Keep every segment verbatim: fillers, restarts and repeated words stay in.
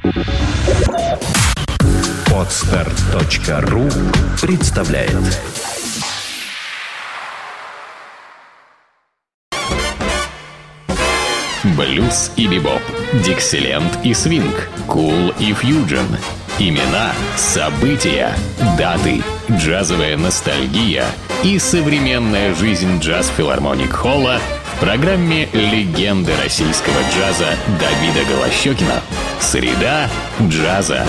Подстер точка ру представляет. Блюз и бибоп, диксиленд и свинг, кул и фьюджен. Имена, события, даты, джазовая ностальгия и современная жизнь джаз-филармоник-холла в программе «Легенды российского джаза» Давида Голощёкина. Среда джаза.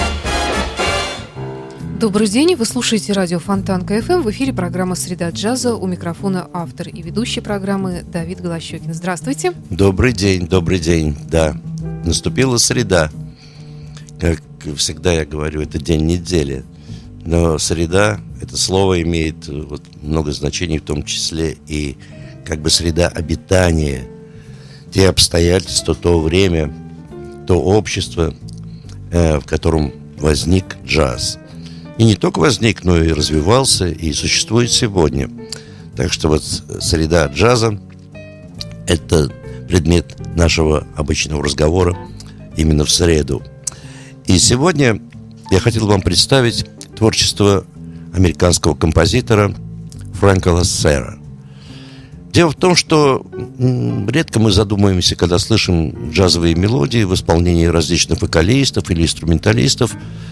Добрый день, вы слушаете радио Фонтан КФМ. В эфире программа «Среда джаза». У микрофона автор и ведущий программы Давид Голощёкин. Здравствуйте. Добрый день, добрый день. Да, наступила среда. Как всегда я говорю, это день недели. Но среда, это слово имеет вот много значений, в том числе и как бы среда обитания. Те обстоятельства, то время, то общество, э, в котором возник джаз. И не только возник, но и развивался, и существует сегодня. Так что вот среда джаза – это предмет нашего обычного разговора именно в среду. И сегодня я хотел вам представить творчество американского композитора Фрэнка Лассера. Дело в том, что редко мы задумываемся, когда слышим джазовые мелодии в исполнении различных вокалистов или инструменталистов,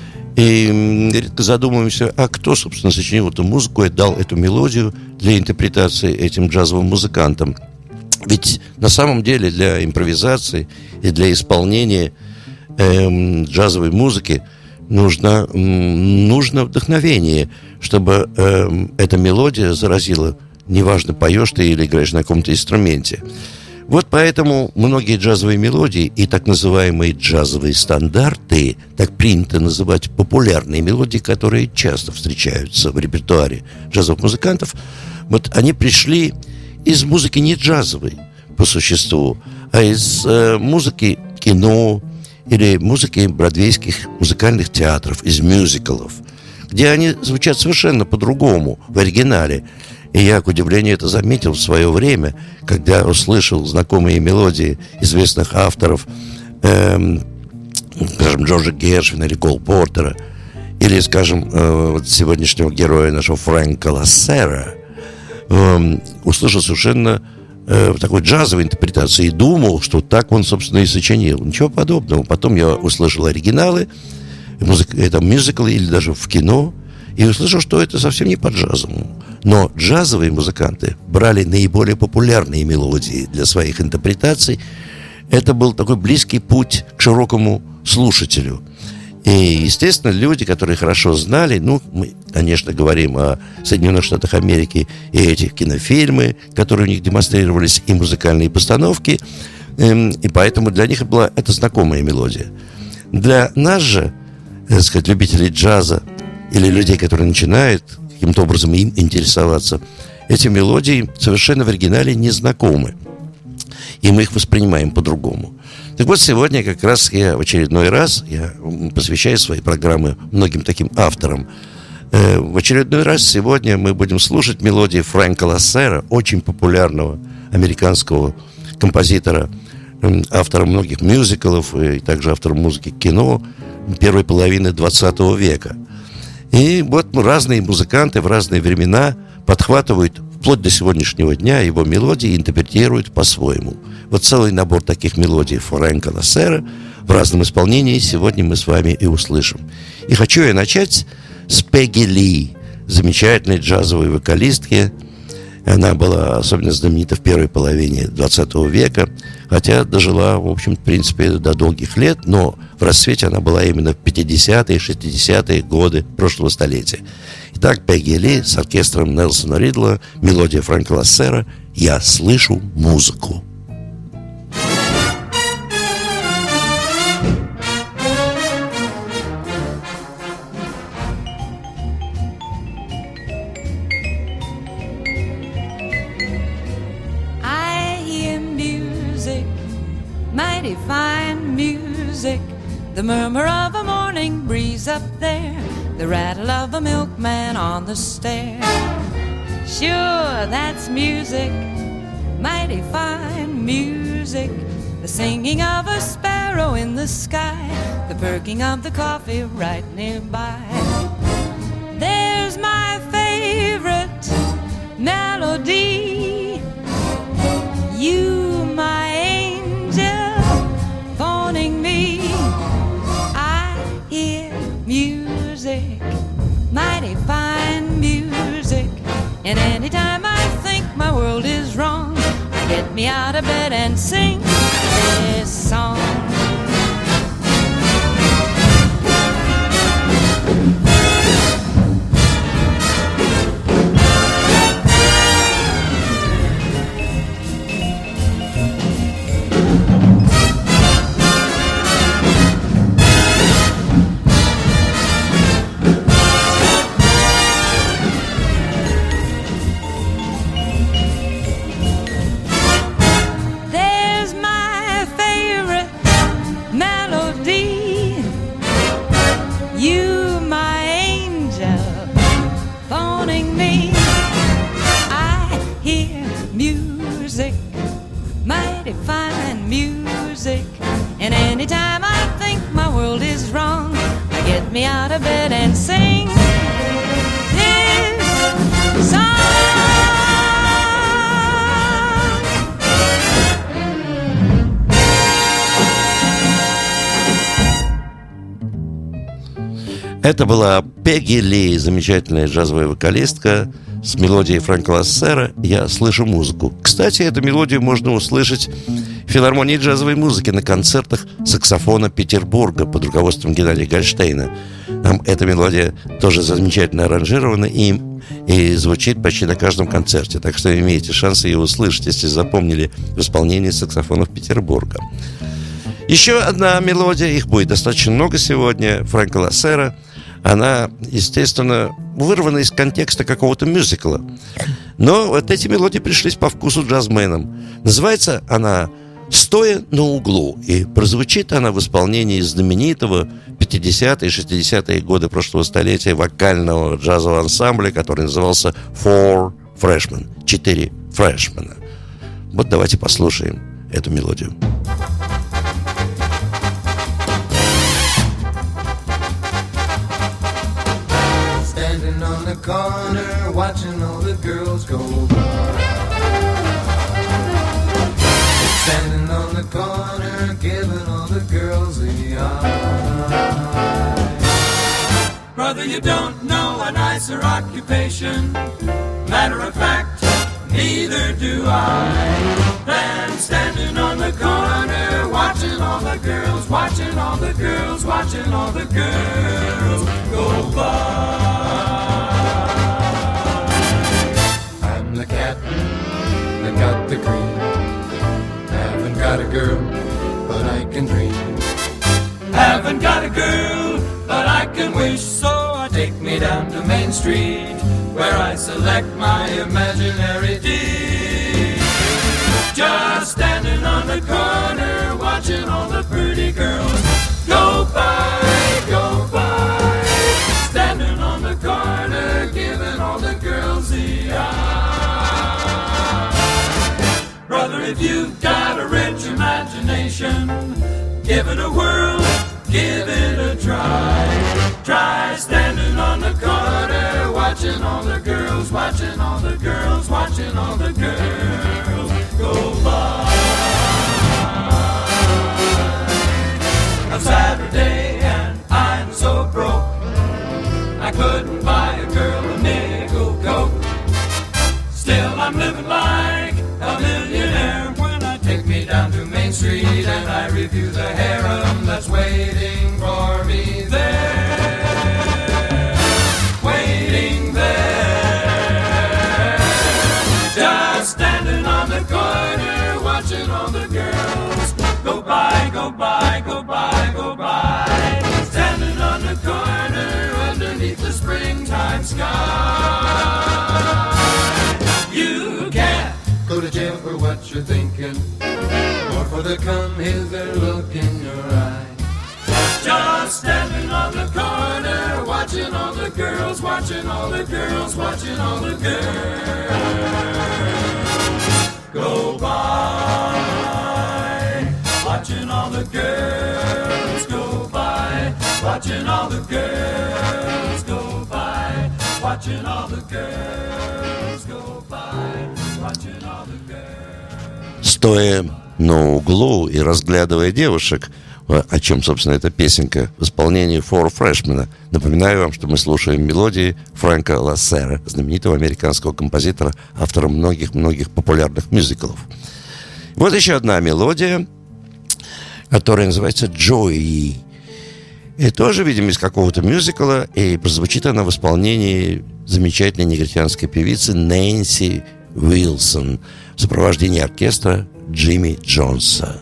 и редко задумываемся, а кто, собственно, сочинил эту музыку и дал эту мелодию для интерпретации этим джазовым музыкантам. Ведь на самом деле для импровизации и для исполнения эм, джазовой музыки нужно, м, нужно вдохновение, чтобы эм, эта мелодия заразила, неважно, поешь ты или играешь на каком-то инструменте. Вот поэтому многие джазовые мелодии и так называемые джазовые стандарты, так принято называть популярные мелодии, которые часто встречаются в репертуаре джазовых музыкантов, вот они пришли из музыки не джазовой по существу, а из э, музыки кино или музыки бродвейских музыкальных театров, из мюзиклов, где они звучат совершенно по-другому в оригинале. И я, к удивлению, это заметил в свое время, когда услышал знакомые мелодии известных авторов, эм, скажем, Джорджа Гершвина или Кол Портера, или, скажем, э, вот сегодняшнего героя нашего Фрэнка Лассера, э, услышал совершенно э, такой джазовой интерпретации и думал, что так он, собственно, и сочинил. Ничего подобного. Потом я услышал оригиналы, музык, это мюзиклы или даже в кино, и услышал, что это совсем не по-джазовому. Но джазовые музыканты брали наиболее популярные мелодии для своих интерпретаций. Это был такой близкий путь к широкому слушателю. И, естественно, люди, которые хорошо знали, ну, мы, конечно, говорим о Соединенных Штатах Америки и этих кинофильмы, которые у них демонстрировались, и музыкальные постановки, и поэтому для них была это знакомая мелодия. Для нас же, так сказать, любителей джаза, или людей, которые начинают каким-то образом им интересоваться, эти мелодии совершенно в оригинале не знакомы. И мы их воспринимаем по-другому. Так вот, сегодня как раз я в очередной раз, я посвящаю свои программы многим таким авторам. Э, в очередной раз сегодня мы будем слушать мелодии Фрэнка Лассера, очень популярного американского композитора, э, автора многих мюзиклов и также автора музыки к кино первой половины двадцатого века. И вот разные музыканты в разные времена подхватывают вплоть до сегодняшнего дня его мелодии и интерпретируют по-своему. Вот целый набор таких мелодий Фрэнка Лассера в разном исполнении сегодня мы с вами и услышим. И хочу я начать с Пегги Ли, замечательной джазовой вокалистки. Она была особенно знаменита в первой половине двадцатого века, хотя дожила, в общем, в принципе, до долгих лет, но в расцвете она была именно в пятидесятые, шестидесятые годы прошлого столетия. Итак, Пегги Ли с оркестром Нельсона Ридла, мелодия Фрэнка Лассера «Я слышу музыку». Mighty fine music, the murmur of a morning breeze up there, the rattle of a milkman on the stair. Sure, that's music, mighty fine music, the singing of a sparrow arrow in the sky, the perking of the coffee right nearby. There's my favorite melody, you, my angel, phoning me. I hear music, mighty fine music, and anytime I think my world is wrong, I get me out of bed and sing this song. Me out of bed and sing this song. Это была Пегги Ли, замечательная джазовая вокалистка с мелодией Фрэнка Лассера «Я слышу музыку». Кстати, эту мелодию можно услышать в филармонии джазовой музыки на концертах саксофона Петербурга под руководством Геннадия Гольштейна. Там эта мелодия тоже замечательно аранжирована и, и звучит почти на каждом концерте. Так что имеете шанс ее услышать, если запомнили в исполнении саксофонов Петербурга. Еще одна мелодия, их будет достаточно много сегодня, Фрэнка Лассера. Она, естественно, вырвана из контекста какого-то мюзикла. Но вот эти мелодии пришлись по вкусу джазменам. Называется она «Стоя на углу». И прозвучит она в исполнении знаменитого пятидесятые и шестидесятые годы прошлого столетия вокального джазового ансамбля, который назывался Four Freshmen. Четыре фрешмена. Вот давайте послушаем эту мелодию. Corner, watching all the girls go by. Standing on the corner, giving all the girls the eye. Brother, you don't know a nicer occupation. Matter of fact, neither do I. Than standing on the corner, watching all the girls, watching all the girls, watching all the girls go by. The cat that got the cream. Haven't got a girl, but I can dream. Haven't got a girl, but I can wish. So I take me down to Main Street, where I select my imaginary dish. Just standing on the corner, watching all the pretty girls go by, go by. Standing on the corner, giving all the girls the eye. Brother, if you've got a rich imagination, give it a whirl, give it a try. Try standing on the corner, watching all the girls, watching all the girls, watching all the girls go by. On Saturday and I'm so broke, I couldn't buy a girl a nickel coke. Still I'm living like a millionaire when I take me down to Main Street and I review the harem that's waiting for me there, waiting there. Just standing on the corner, watching all the girls go by, go by, go by, go by. Standing on the corner underneath the springtime sky. You can't go to jail for what you're thinking, or for the come hither look in your eye. Just standing on the corner, watching all the girls, watching all the girls, watching all the girls go by, watching all the girls. watching all the girls go by, watching all the girls go by, watching all the girls. Стоя на углу и разглядывая девушек, о чем, собственно, эта песенка в исполнении Four Freshmen. Напоминаю вам, что мы слушаем мелодии Фрэнка Лассера, знаменитого американского композитора, автора многих-многих популярных мюзиклов. Вот еще одна мелодия, которая называется «Joey». И тоже, видимо, из какого-то мюзикла, и прозвучит она в исполнении замечательной негритянской певицы Нэнси Уилсон в сопровождении оркестра Джимми Джонса.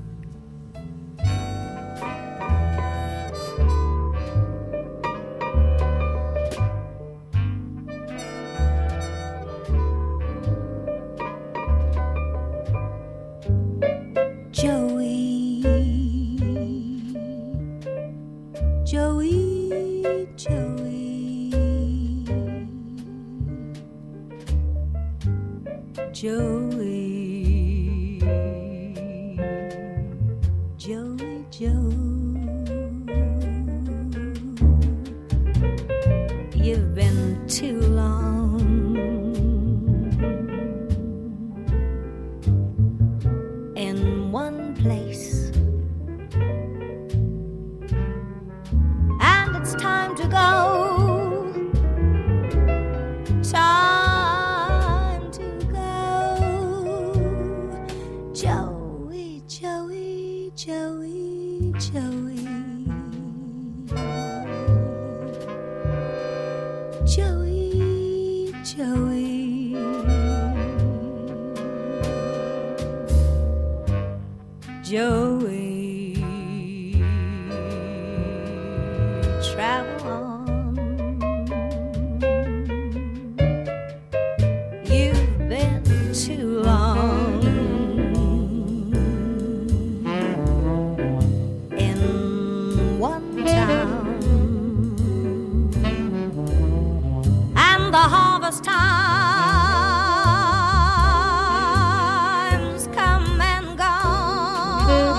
Joey, Joey, Joe, you've been too long in one place, and it's time to go. Time to go. Joey, Joey, Joey, Joey, Joey, Joey, Joey, travel on. Too long in one town, and the harvest times come and gone.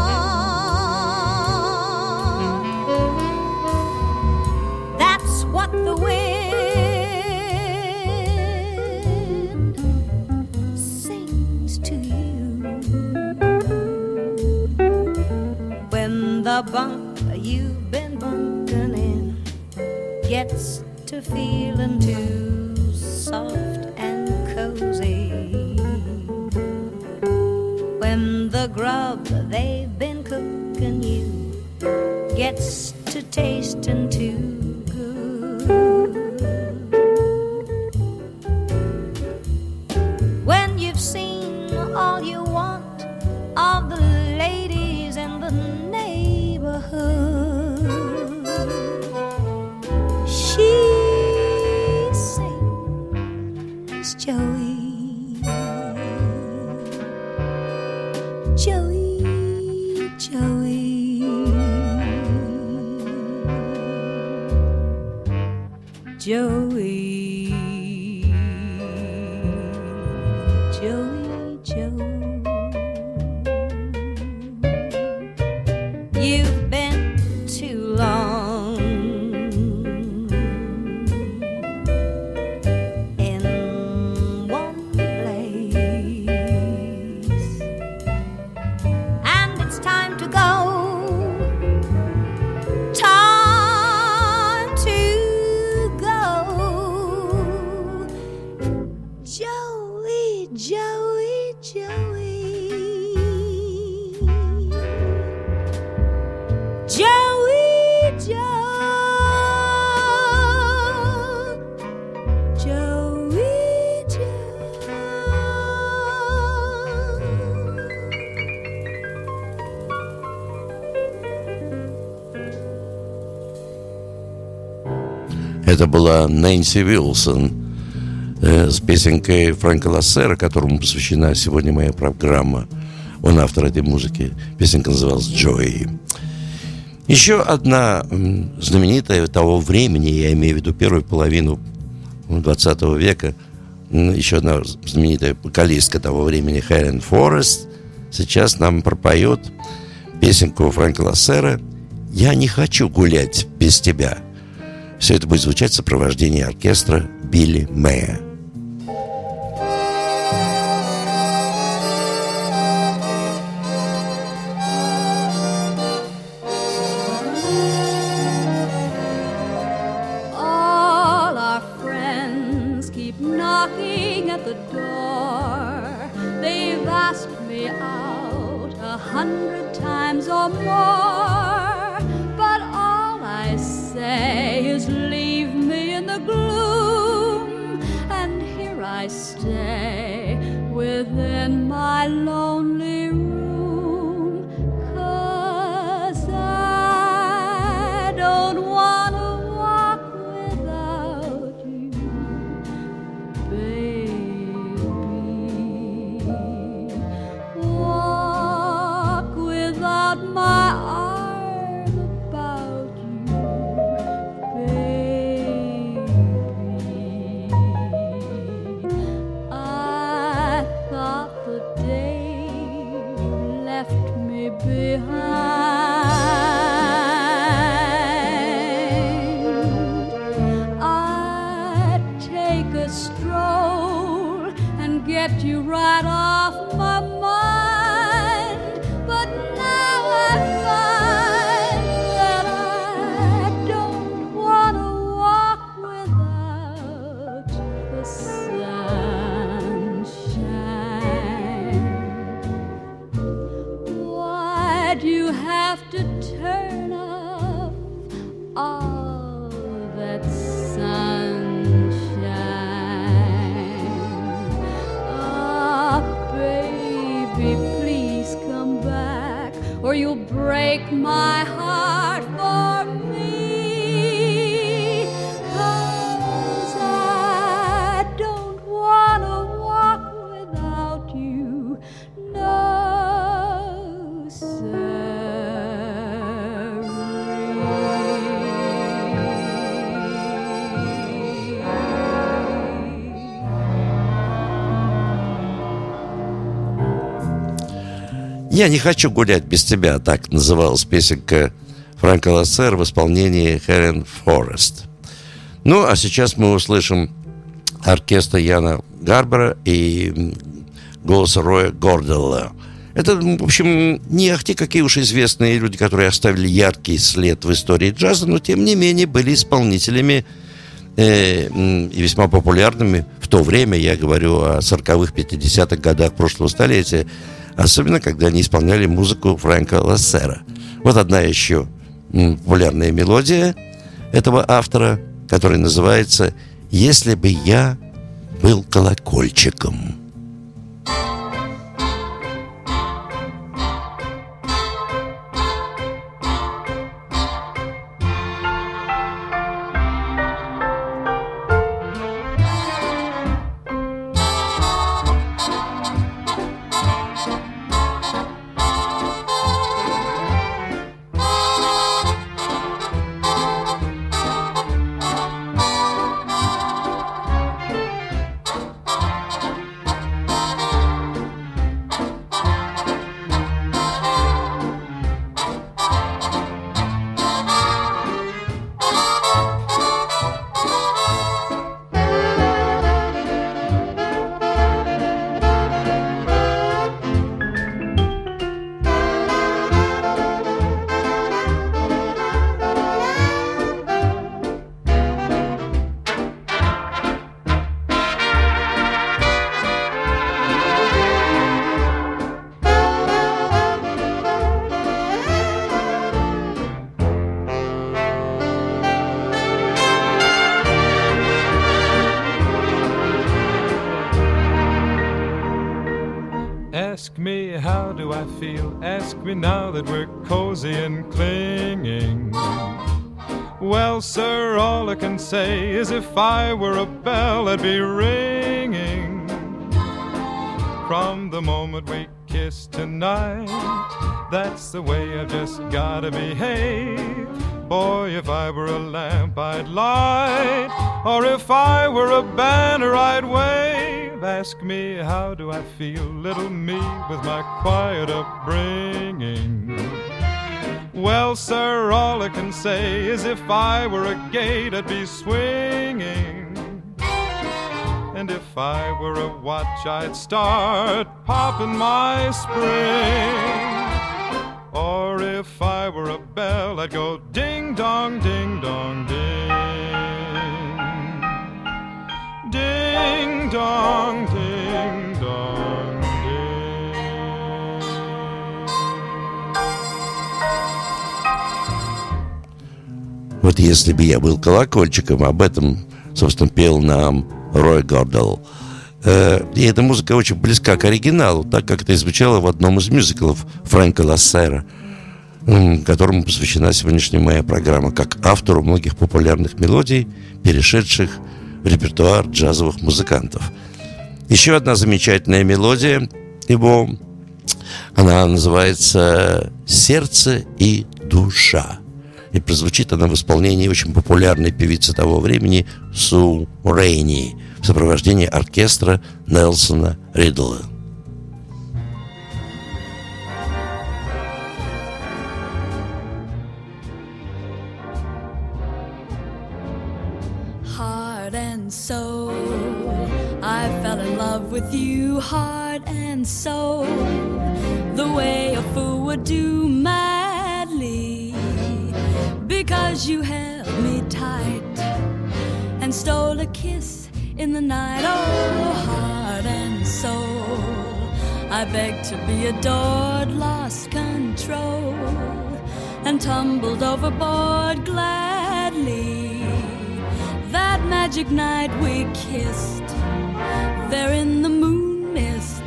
That's what the wind the bunk you've been bunking in gets to feeling too soft and cozy. When the grub they've been cooking you gets to tasting too good. When you've seen all you want of the ladies in the she sings, Joey, Joey, Joey, Joey, Joey, Joey. You've been too long in one place, and it's time to go. Time to go. Joey, Joey, Joey. Joey, Joe, Joey, Joe. Это была Нэнси Уилсон э, с песенкой Фрэнка Лассера, которому посвящена сегодня моя программа. Он автор этой музыки. Песенка называлась «Joey». Еще одна знаменитая того времени, я имею в виду первую половину двадцатого века, еще одна знаменитая вокалистка того времени, Хелен Форест, сейчас нам пропоет песенку Фрэнка Лассера «Я не хочу гулять без тебя». Все это будет звучать в сопровождении оркестра Билли Мэя. Knocking at the door, they've asked me out a hundred times or more, but all I say is leave me in the gloom, and here I stay within my lonely room, 'cause I don't want to walk without you, walk without my arm about you, baby. I thought the day you left me behind, I'd take a stroll and get you right off my mind, but now I find that I don't want to walk without the sunshine. Why'd you have to turn off all that sunshine? Ah, baby, please come back, or you'll break my heart for me, 'cause I don't want to walk without you, no, «Я не хочу гулять без тебя», так называлась песенка Фрэнка Лассера в исполнении Хелен Форест. Ну, а сейчас мы услышим оркестр Яна Гарбера и голос Роя Горделла. Это, в общем, не ахти какие уж известные люди, которые оставили яркий след в истории джаза, но, тем не менее, были исполнителями э, и весьма популярными в то время, я говорю о сороковых, пятидесятых годах прошлого столетия, особенно когда они исполняли музыку Фрэнка Лассера. Вот одна еще популярная мелодия этого автора, которая называется «Если бы я был колокольчиком». Ask me, how do I feel? Ask me now that we're cozy and clinging. Well, sir, all I can say is if I were a bell, I'd be ringing. From the moment we kissed tonight, that's the way I've just gotta behave. Boy, if I were a lamp, I'd light, or if I were a banner, I'd wave. Ask me, how do I feel, little me with my quiet upbringing? Well, sir, all I can say is if I were a gate, I'd be swinging. And if I were a watch, I'd start popping my spring. Or if I were a bell, I'd go ding-dong, ding-dong, ding. Ding-dong, ding-dong, ding. Вот если бы я был колокольчиком, об этом, собственно, пел нам Рой Гордел. И эта музыка очень близка к оригиналу, так как это звучало в одном из мюзиклов Фрэнка Лассера, которому посвящена сегодняшняя моя программа, как автору многих популярных мелодий, перешедших в репертуар джазовых музыкантов. Еще одна замечательная мелодия его, она называется «Сердце и душа». И прозвучит она в исполнении очень популярной певицы того времени Су Рейни в сопровождении оркестра Нельсона Ридла. Heart and soul, I fell in love with you, heart and soul, the way a fool would do madly, because you held me tight and stole a kiss in the night. Oh, heart and soul, I begged to be adored, lost control, and tumbled overboard gladly. That magic night we kissed, there in the moon mist.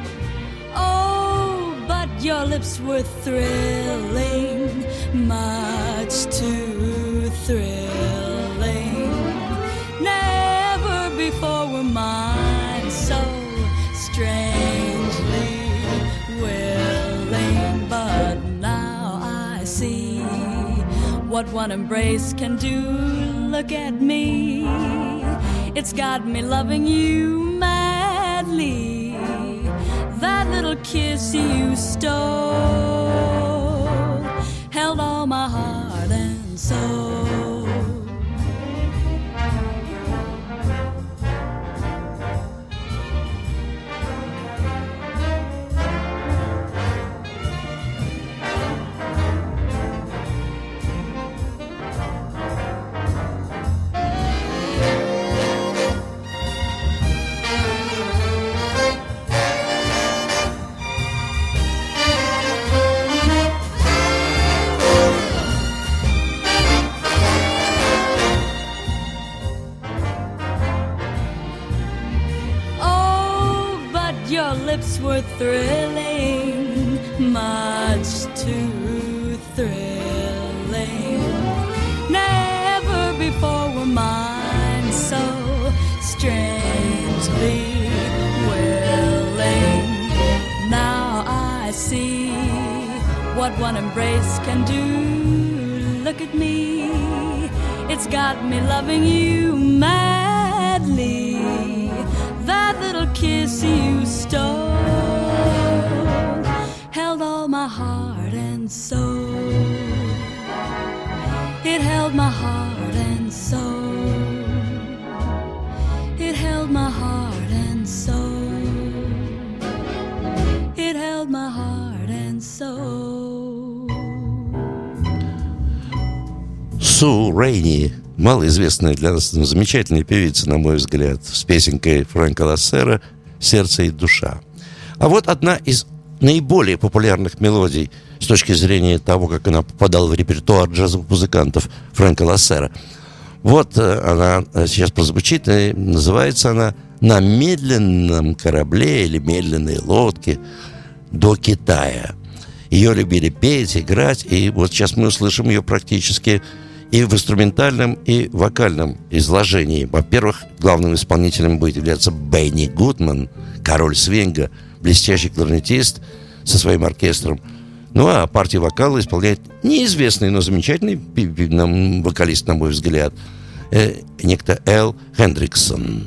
Oh, but your lips were thrilling, much too thrilling. Never before were mine so strangely willing. But now I see what one embrace can do. Look at me, it's got me loving you madly. That little kiss you stole held all my heart and soul. Were thrilling, much too thrilling. Never before were mine so strangely willing. Now I see what one embrace can do. Look at me, it's got me loving you madly. That little kiss you stole held all my heart and soul. It held my heart and soul. It held my heart and soul. It held my heart and soul. Су Рейни, малоизвестная для нас, но замечательная певица, на мой взгляд, с песенкой Фрэнка Лассера «Сердце и душа». А вот одна из наиболее популярных мелодий с точки зрения того, как она попадала в репертуар джазовых музыкантов Фрэнка Лассера. Вот она сейчас прозвучит, и называется она «На медленном корабле» или «Медленной лодке до Китая». Ее любили петь, играть, и вот сейчас мы услышим ее практически и в инструментальном, и вокальном изложении. Во-первых, главным исполнителем будет являться Бенни Гудман, король свинга, блестящий кларнетист со своим оркестром. Ну, а партию вокала исполняет неизвестный, но замечательный вокалист, на мой взгляд, э, некто Эл Хендриксон.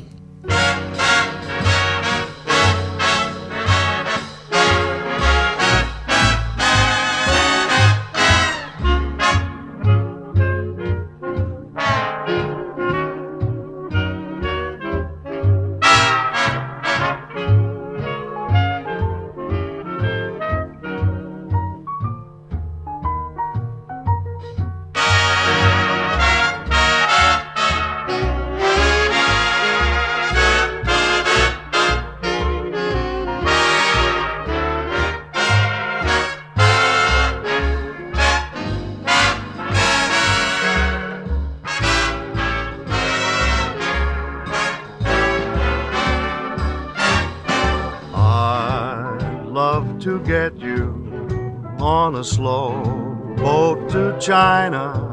to get you on a slow boat to China,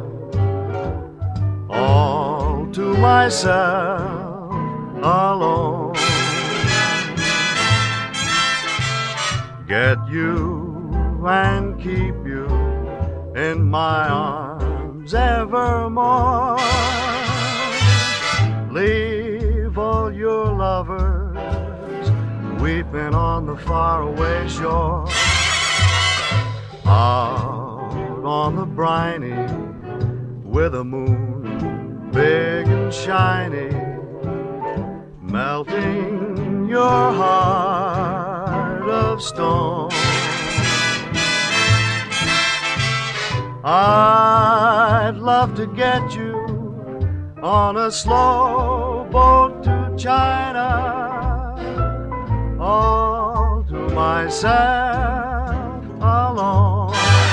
all to myself alone. Get you and keep you in my arms evermore. Leave all your lovers weeping on the faraway shore. Out on the briny with a moon big and shiny, melting your heart of stone. I'd love to get you on a slow boat to China, all to myself alone.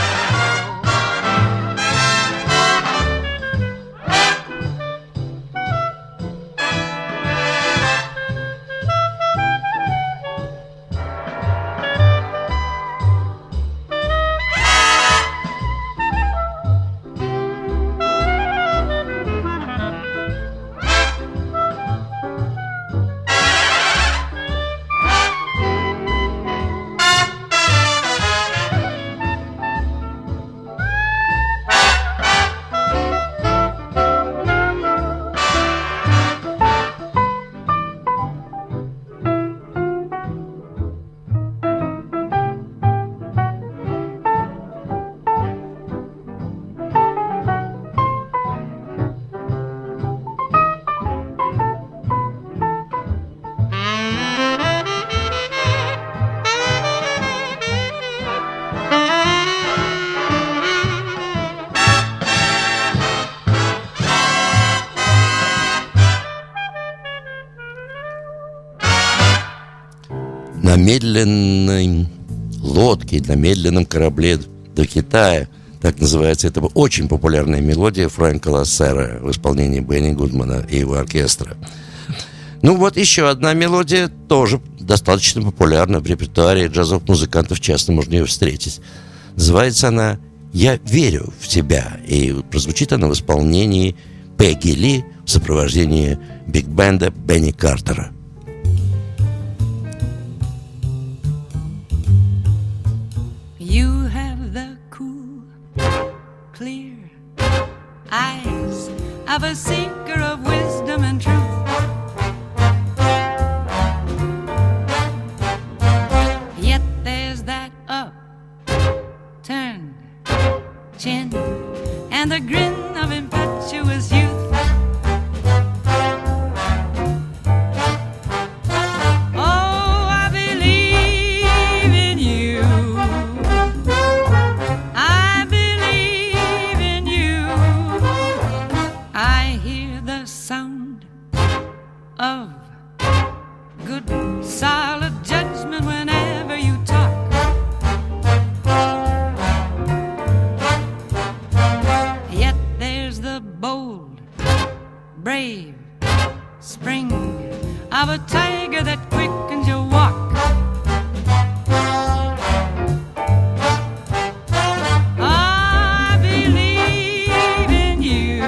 На медленной лодке, на медленном корабле до Китая. Так называется эта очень популярная мелодия Фрэнка Лассера в исполнении Бенни Гудмана и его оркестра. Ну вот еще одна мелодия, тоже достаточно популярна в репертуаре джазовых музыкантов, часто можно ее встретить. Называется она «Я верю в тебя», и прозвучит она в исполнении Пегги Ли в сопровождении биг-бенда Бенни Картера. You have the cool, clear eyes of a seeker of wisdom and truth. Yet there's that upturned chin and the grin of impetuous youth. Of good, solid judgment whenever you talk. Yet there's the bold, brave spring of a tiger that quickens your walk. I believe in you.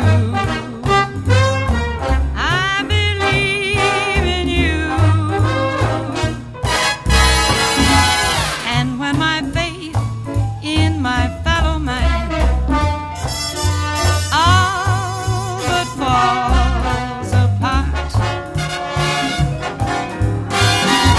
Falls apart.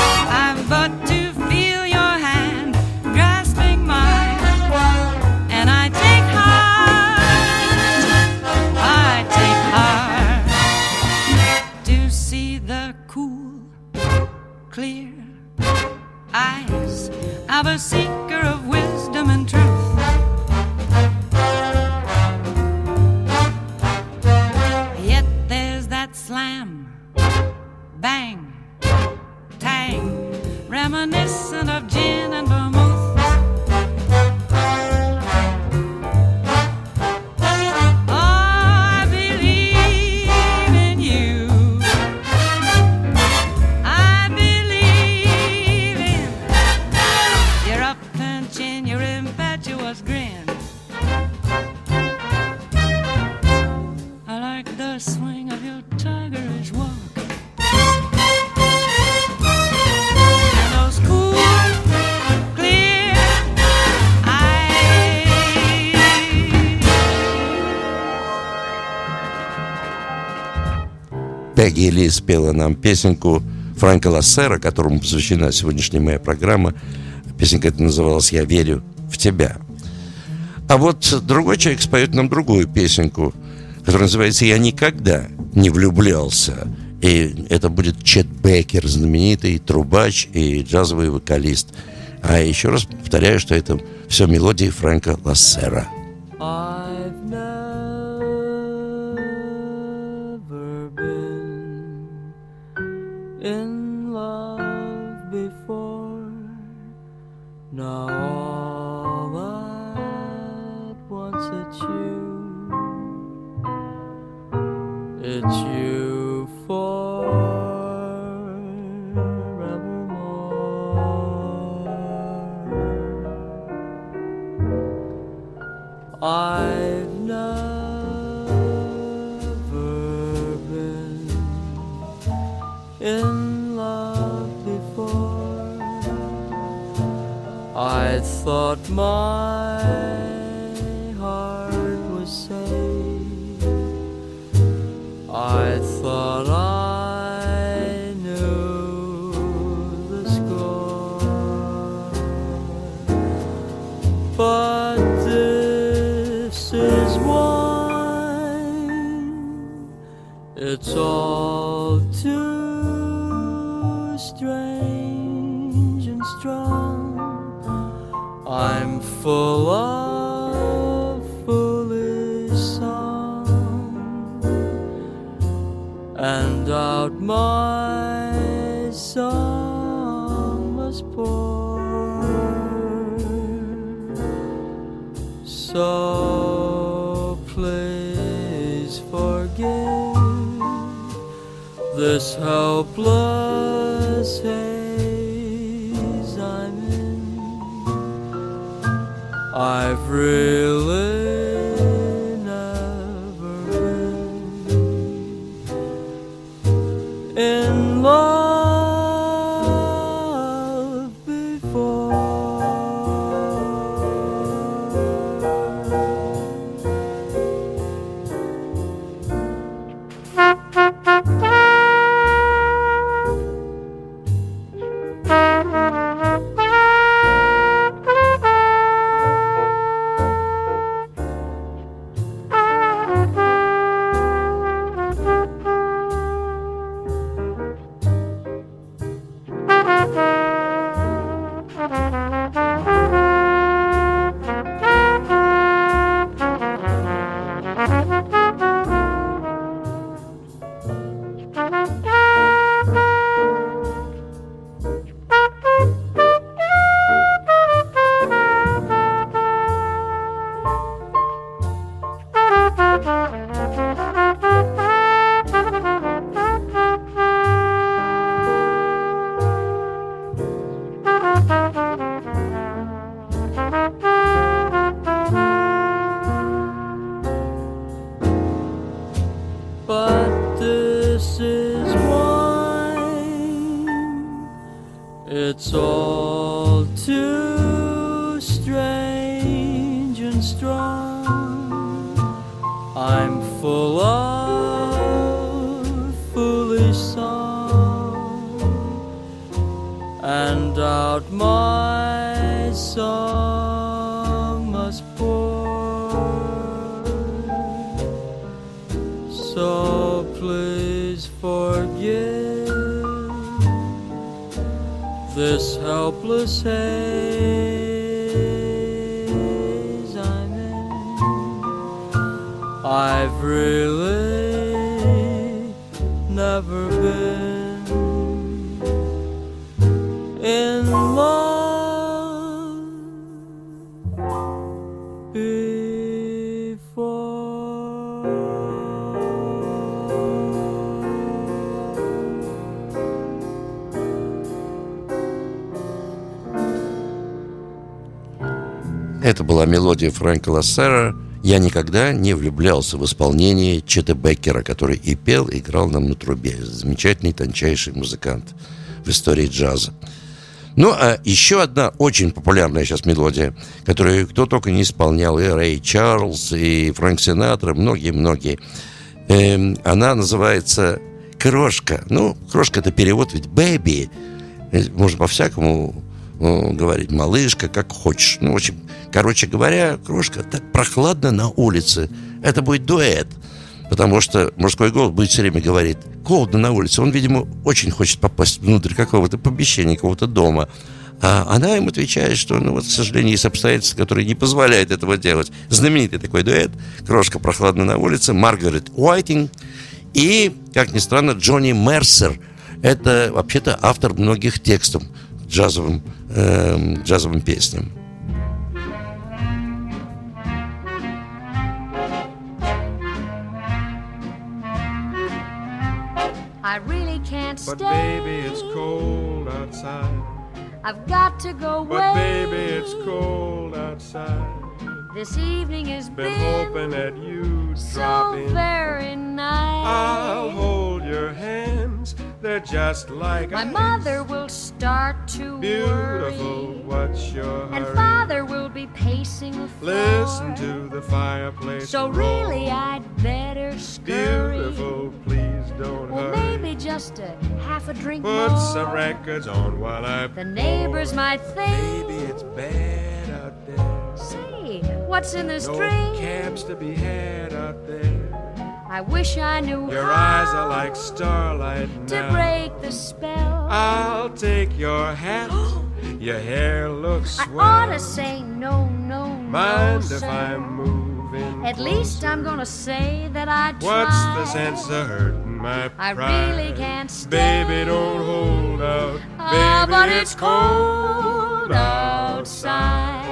Пегги Ли спела нам песенку Фрэнка Лассера, которому посвящена сегодняшняя моя программа. Песенка эта называлась «Я верю в тебя». А вот другой человек споет нам другую песенку, которая называется «Я никогда не влюблялся». И это будет Чет Беккер, знаменитый трубач и джазовый вокалист. А еще раз повторяю, что это все мелодии Фрэнка Лассера. I've never been in love before. Now all at once it's you. It's you forevermore. I've never been in love before. I thought my heart was safe. I thought I knew the score. But this is wine. It's all too strange and strong. I'm full of foolish song, and out my song must pour. So please forgive this helpless haze I'm in. I've really never been in love before. But this is wine. It's all too strange and strong. I'm full of foolish song, and out my song must pour. So please forgive this helpless haze I'm in. I've really never been in love before. Это была мелодия Фрэнка Лассера «Я никогда не влюблялся» в исполнении Чета Беккера, который и пел, и играл нам на трубе. Замечательный, тончайший музыкант в истории джаза. Ну, а еще одна очень популярная сейчас мелодия, которую кто только не исполнял, и Рэй Чарльз, и Фрэнк Синатра, многие-многие. Эм, она называется крошка. Ну, крошка — это перевод, ведь baby. Можно по-всякому ну, говорить. Малышка, как хочешь. Ну, в общем, короче говоря, крошка, так прохладно на улице. Это будет дуэт. Потому что мужской голос будет все время говорить: холодно на улице. Он, видимо, очень хочет попасть внутрь какого-то помещения, какого-то дома. А она им отвечает, что, ну вот, к сожалению, есть обстоятельства, которые не позволяют этого делать. Знаменитый такой дуэт. Крошка прохладно на улице. Маргарет Уайтинг. И, как ни странно, Джонни Мерсер. Это, вообще-то, автор многих текстов к джазовым, э, джазовым песням. I really can't stay. But baby, it's cold outside. I've got to go away. But baby, it's cold outside. This evening has Been been hoping that you'd drop so in. very nice. I'll hold your hands. They're just like My ice. mother will start to Beautiful, worry, what's your and hurry? father will be pacing the floor. Listen to the fireplace So roar. really I'd better scurry. Beautiful, please don't Well, hurry. maybe just a half a drink Put more. some records on while I The neighbors might think, Baby, it's bad out there. say, what's in this No drink? cabs to be had out there. I wish I knew Your how eyes are like starlight to now. break the spell. I'll take your hat. Your hair looks I swell. ought to say no, no, Mind no, if sir. I'm moving At least closer? I'm gonna say that I tried. What's the sense of hurting my I pride? really can't stay. Baby, don't hold out. Ah, Baby, but it's it's cold cold outside.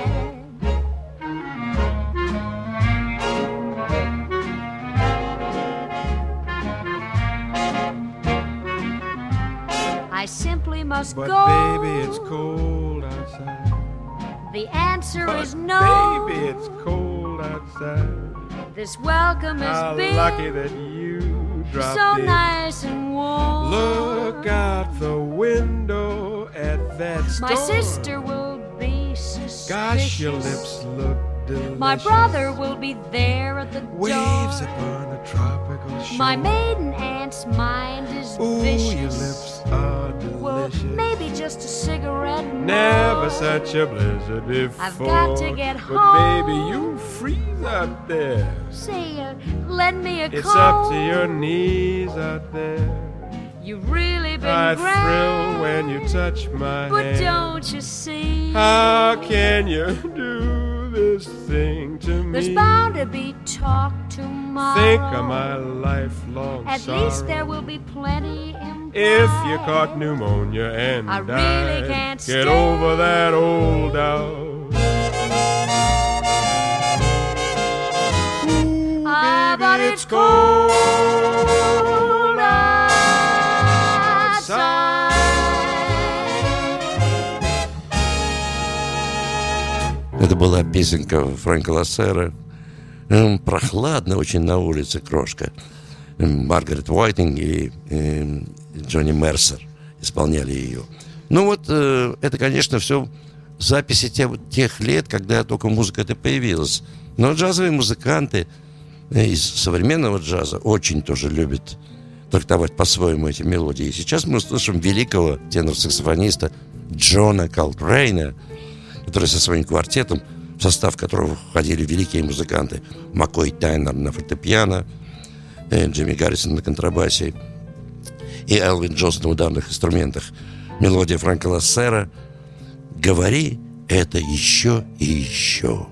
I simply must But go. baby, it's cold outside. The answer But is no. baby, it's cold outside. This welcome has How been lucky that you dropped so in. nice and warm. Look out the window at that storm. My sister will be suspicious. Gosh, your lips look delicious. My brother will be there at the Waves door. upon a tropical shore. My maiden aunt's mind is Ooh, vicious. your lips are delicious. Well, maybe just a cigarette more. Never such a blizzard before. I've got to get but home. baby, you freeze out there. Say, uh, lend me a It's coat. up to your knees out there. You've really been I grand. thrill when you touch my But hand. don't you see? How can you do this thing to me? There's bound to be talk tomorrow. Think of my lifelong At sorrow. least there will be plenty implied. If you caught pneumonia and I died, really can't get stay. over that old doubt. Ah, but Baby, it's cold outside. Это была песенка Фрэнка Лассера. М, Прохладно очень на улице, крошка. М, Маргарет Уайтинг и, и Джонни Мерсер исполняли ее. Ну вот, э, это, конечно, все записи те- тех лет, когда только музыка эта появилась. Но джазовые музыканты из современного джаза очень тоже любят трактовать по-своему эти мелодии. И сейчас мы услышим великого тенор-саксофониста Джона Колтрейна, который со своим квартетом, в состав которого входили великие музыканты Маккой Тайнер на фортепиано, э, Джимми Гаррисон на контрабасе и Элвин Джонс на ударных инструментах. Мелодия Фрэнка Лассера «Говори это еще и еще».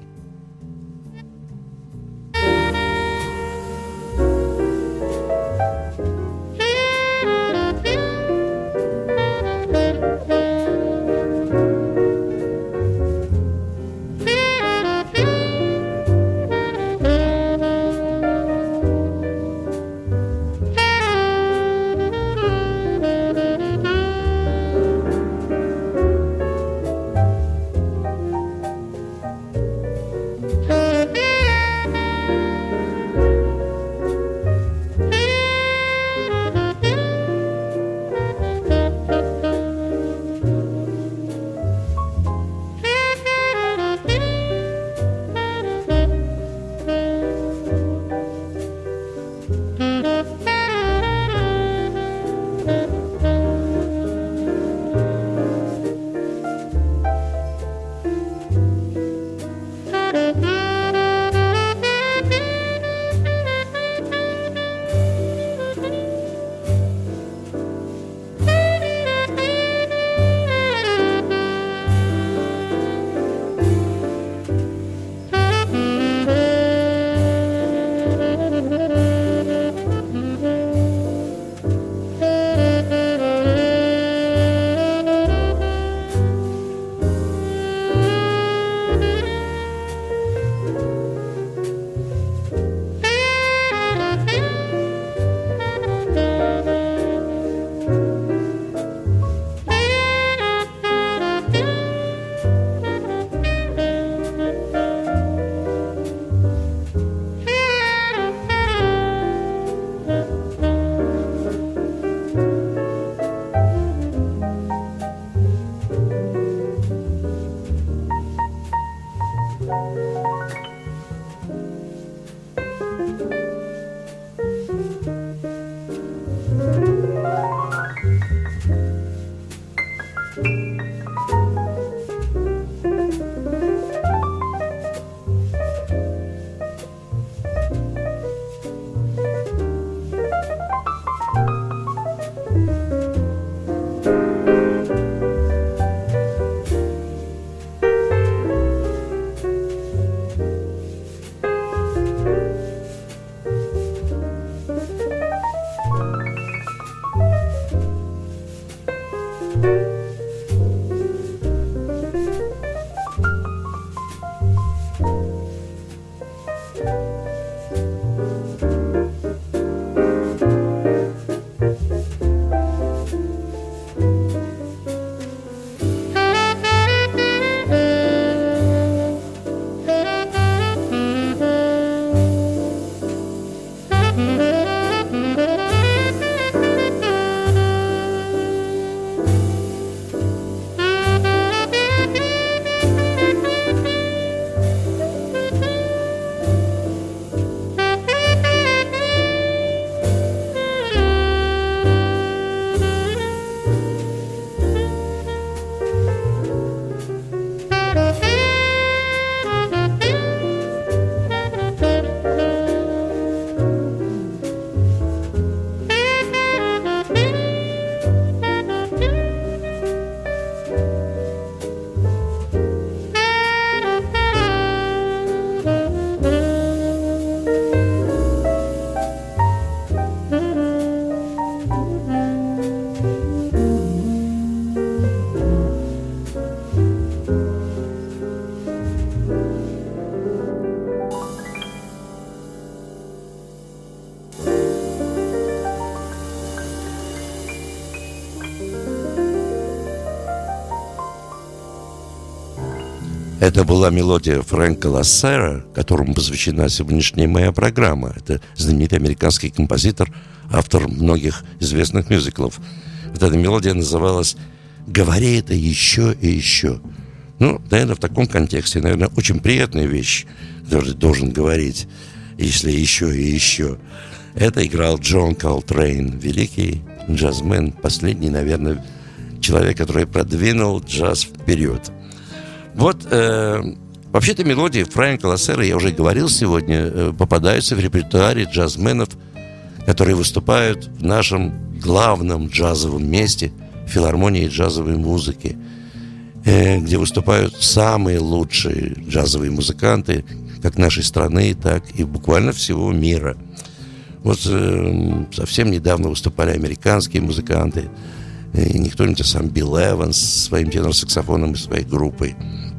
Это была мелодия Фрэнка Лассера, которому посвящена сегодняшняя моя программа. Это знаменитый американский композитор, автор многих известных мюзиклов. Вот эта мелодия называлась «Говори это еще и еще». Ну, наверное, в таком контексте, наверное, очень приятная вещь, которую должен говорить, если еще и еще. Это играл Джон Колтрейн, великий джазмен, последний, наверное, человек, который продвинул джаз вперед. Вот, э, вообще-то мелодии Фрэнка Лассера, я уже говорил сегодня, э, попадаются в репертуаре джазменов, которые выступают в нашем главном джазовом месте, филармонии джазовой музыки, э, где выступают самые лучшие джазовые музыканты, как нашей страны, так и буквально всего мира. Вот э, совсем недавно выступали американские музыканты, и не кто-нибудь, а сам Билл Эванс со своим тенор-саксофоном и своей группой.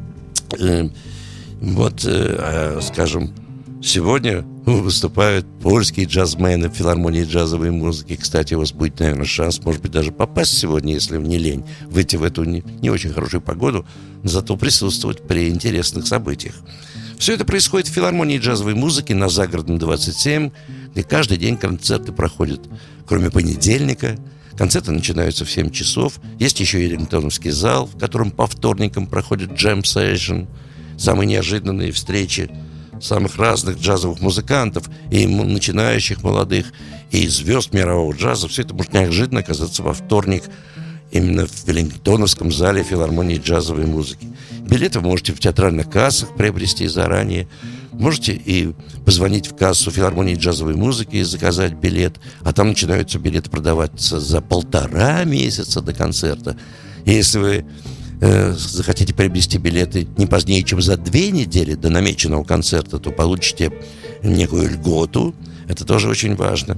Вот, скажем, сегодня выступают польские джазмены в филармонии джазовой музыки. Кстати, у вас будет, наверное, шанс, может быть, даже попасть сегодня, если не лень, выйти в эту не, не очень хорошую погоду, но зато присутствовать при интересных событиях. Все это происходит в филармонии джазовой музыки на Загородном двадцать семь, где каждый день концерты проходят, кроме понедельника. Концерты начинаются в семь часов. Есть еще и рингтоновский зал, в котором по вторникам проходит джем-сейшн. Самые неожиданные встречи самых разных джазовых музыкантов, и начинающих, молодых, и звезд мирового джаза. Все это может неожиданно оказаться во вторник именно в Веллингтоновском зале филармонии джазовой музыки. Билеты вы можете в театральных кассах приобрести заранее. Можете и позвонить в кассу филармонии джазовой музыки и заказать билет. А там начинаются билеты продаваться за полтора месяца до концерта. И если вы э, захотите приобрести билеты не позднее, чем за две недели до намеченного концерта, то получите некую льготу. Это тоже очень важно.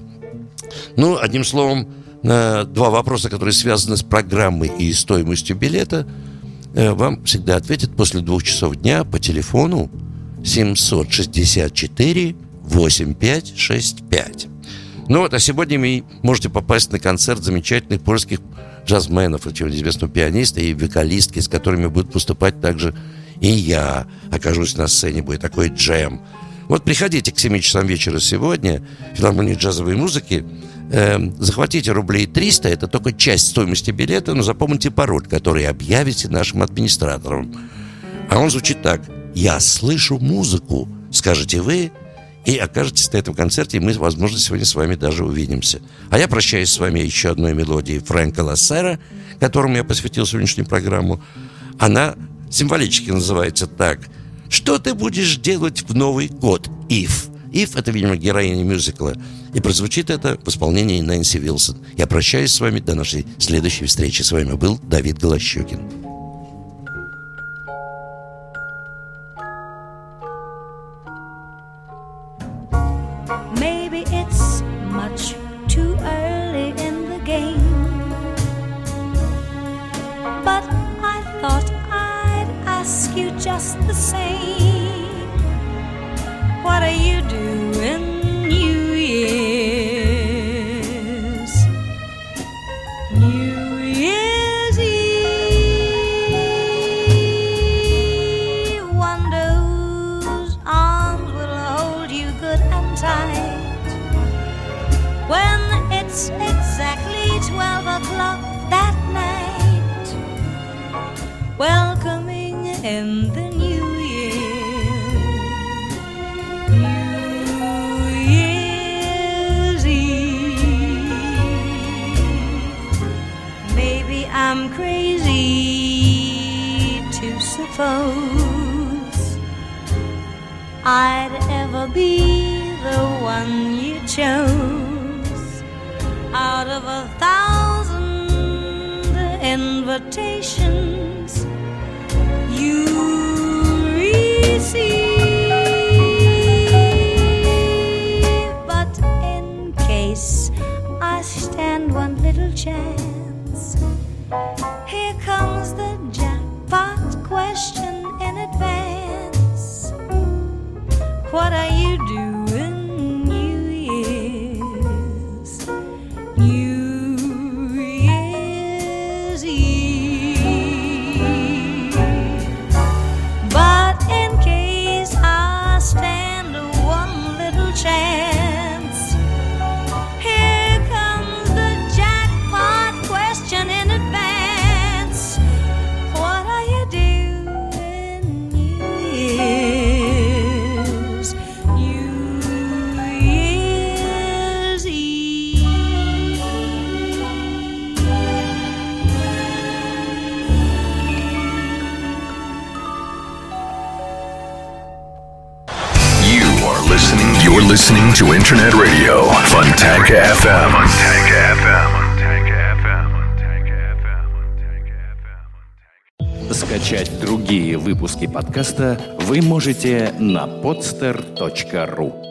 Ну, одним словом, на два вопроса, которые связаны с программой и стоимостью билета, э, вам всегда ответят после двух часов дня по телефону семь шесть четыре восемь пять шесть пять. Ну вот, а сегодня вы можете попасть на концерт замечательных польских джазменов, очень известного пианиста и вокалистки, с которыми будет выступать также и я. Окажусь на сцене, будет такой джем. Вот приходите к семи часам вечера сегодня в филармонию джазовой музыки. Э, захватите рублей триста, это только часть стоимости билета, но запомните пароль, который объявите нашим администраторам. А он звучит так: «Я слышу музыку», скажете вы, и окажетесь на этом концерте, и мы, возможно, сегодня с вами даже увидимся. А я прощаюсь с вами еще одной мелодией Фрэнка Лассера, которому я посвятил сегодняшнюю программу. Она символически называется так: «Что ты будешь делать в Новый год, Ив?» Ив — это, видимо, героиня мюзикла. И прозвучит это в исполнении Нэнси Вилсон. Я прощаюсь с вами до нашей следующей встречи. С вами был Давид Голощёкин. Just the same, what are you doing New Year's? New Year's Eve, wonder whose arms will hold you good and tight when it's exactly twelve o'clock that night, welcoming in the new year, New Year's Eve. Maybe I'm crazy to suppose I'd ever be the one you chose out of a thousand invitations you receive. But in case I stand one little chance, here comes the jackpot question in advance: what are you doing New Year's? New Year's Eve. But Фонтанка эф эм. Фонтанка эф эм. Скачать другие выпуски подкаста вы можете на podster точка ру.